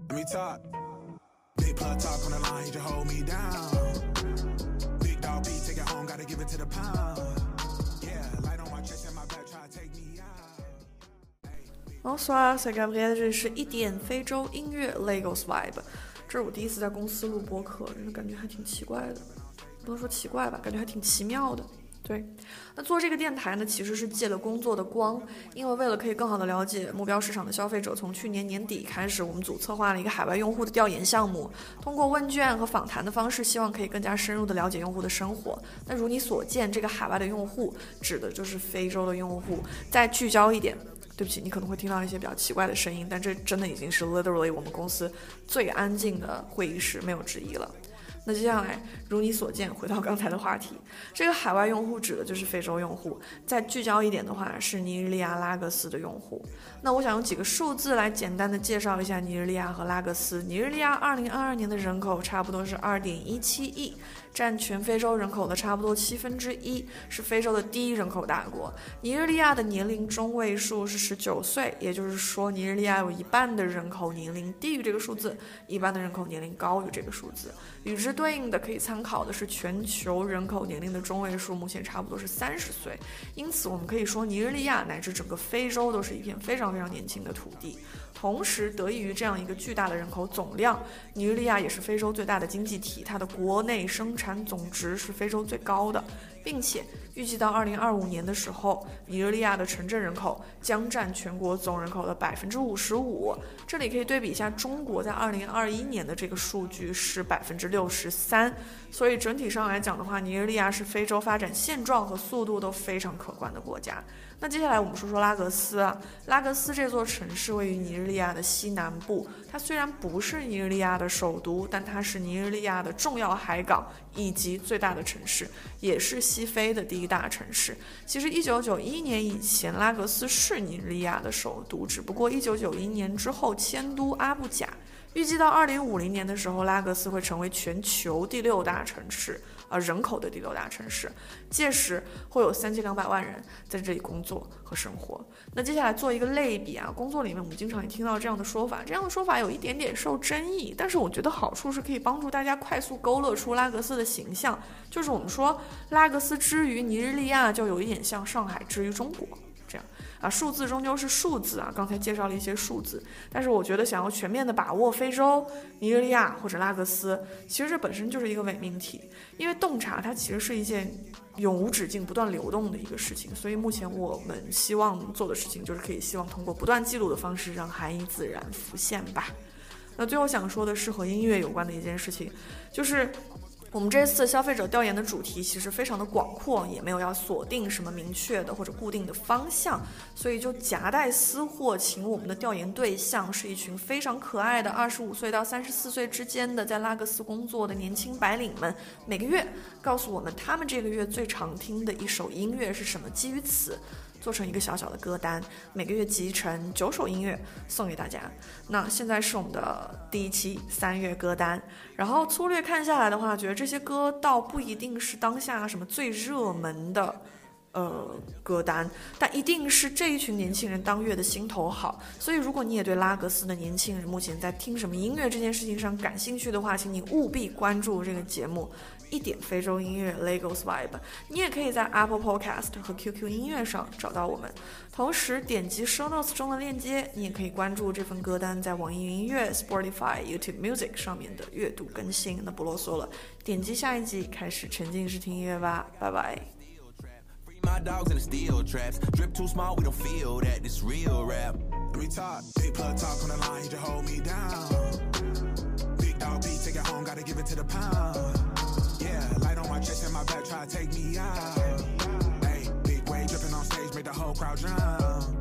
Let me talk. Big plug talk on the line, he just hold me down. Big dog beat, take it home, gotta give it to the pound. Yeah, light on my chest and my back, try to take me out.Bonsoir, c'est Gabriel， 这里是一点非洲音乐 Lagos Vibe。这是我第一次在公司录播客，真的感觉还挺奇怪的，不能说奇怪吧，感觉还挺奇妙的。对，那做这个电台呢，其实是借了工作的光，因为为了可以更好的了解目标市场的消费者，从去年年底开始，我们组策划了一个海外用户的调研项目，通过问卷和访谈的方式，希望可以更加深入的了解用户的生活。那如你所见，这个海外的用户指的就是非洲的用户。再聚焦一点，对不起，你可能会听到一些比较奇怪的声音，但这真的已经是 literally 我们公司最安静的会议室，没有之一了。那接下来如你所见，回到刚才的话题，这个海外用户指的就是非洲用户，再聚焦一点的话是尼日利亚拉各斯的用户。那我想用几个数字来简单的介绍一下尼日利亚和拉各斯。尼日利亚2022年的人口差不多是 2.17 亿，占全非洲人口的差不多1/7，是非洲的第一人口大国。尼日利亚的年龄中位数是19岁，也就是说尼日利亚有一半的人口年龄低于这个数字，一半的人口年龄高于这个数字。与之对应的可以参考的是全球人口年龄的中位数，目前差不多是30岁。因此我们可以说尼日利亚乃至整个非洲都是一片非常非常年轻的土地。同时得益于这样一个巨大的人口总量，尼日利亚也是非洲最大的经济体，它的国内生产总值是非洲最高的，并且预计到2025年的时候，尼日利亚的城镇人口将占全国总人口的 55%。 这里可以对比一下中国在2021年的这个数据是 63%。 所以整体上来讲的话，尼日利亚是非洲发展现状和速度都非常可观的国家。那接下来我们说说拉各斯啊，拉各斯这座城市位于尼日利亚的西南部，它虽然不是尼日利亚的首都，但它是尼日利亚的重要海港以及最大的城市，也是西非的第一大城市。其实1991年以前，拉各斯是尼日利亚的首都，只不过1991年之后迁都阿布贾。预计到2050年的时候，拉各斯会成为全球第6大城市，人口的第6大城市。届时会有3200万人在这里工作和生活。那接下来做一个类比啊，工作里面我们经常也听到这样的说法，这样的说法有一点点受争议，但是我觉得好处是可以帮助大家快速勾勒出拉各斯的形象，就是我们说拉各斯之于尼日利亚，就有一点像上海之于中国这样啊，数字终究是数字啊，刚才介绍了一些数字，但是我觉得想要全面的把握非洲、尼日利亚或者拉各斯，其实这本身就是一个伪命题，因为洞察它其实是一件永无止境、不断流动的一个事情，所以目前我们希望做的事情就是可以希望通过不断记录的方式，让含义自然浮现吧。那最后想说的是和音乐有关的一件事情，就是我们这次消费者调研的主题其实非常的广阔，也没有要锁定什么明确的或者固定的方向，所以就夹带私货，请我们的调研对象是一群非常可爱的25岁到34岁之间的在拉各斯工作的年轻白领们，每个月告诉我们他们这个月最常听的一首音乐是什么，基于此做成一个小小的歌单，每个月集成9首音乐送给大家。那现在是我们的第一期3月歌单，然后粗略看下来的话，觉得这些歌倒不一定是当下什么最热门的歌单，但一定是这一群年轻人当月的心头好。所以如果你也对拉各斯的年轻人目前在听什么音乐这件事情上感兴趣的话，请你务必关注这个节目一点非洲音乐 Lagos Vibe。 你也可以在 Apple Podcast 和 QQ 音乐上找到我们，同时点击 Show Notes 中的链接，你也可以关注这份歌单在网易云音乐、Spotify、YouTube Music 上面的月度更新。那不啰嗦了，点击下一集开始沉浸式听音乐吧，拜拜。 My dogs in the steel traps. Drip too small, we don't feel that. This real rap. Let me talk. Big plug talk on the line, he just hold me down. Big dog beat, take it home, gotta give it to the pound. Yeah, light on my chest and my back, try to take me out. Hey, big wave dripping on stage, make the whole crowd drown.